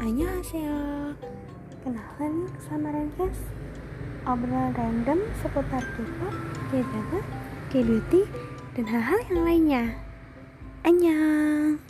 Annyeonghaseyo. Kenalan sama Rangkes, obrolan random seputar K-pop, K-drama, K-beauty, dan hal-hal yang lainnya. Annyeong.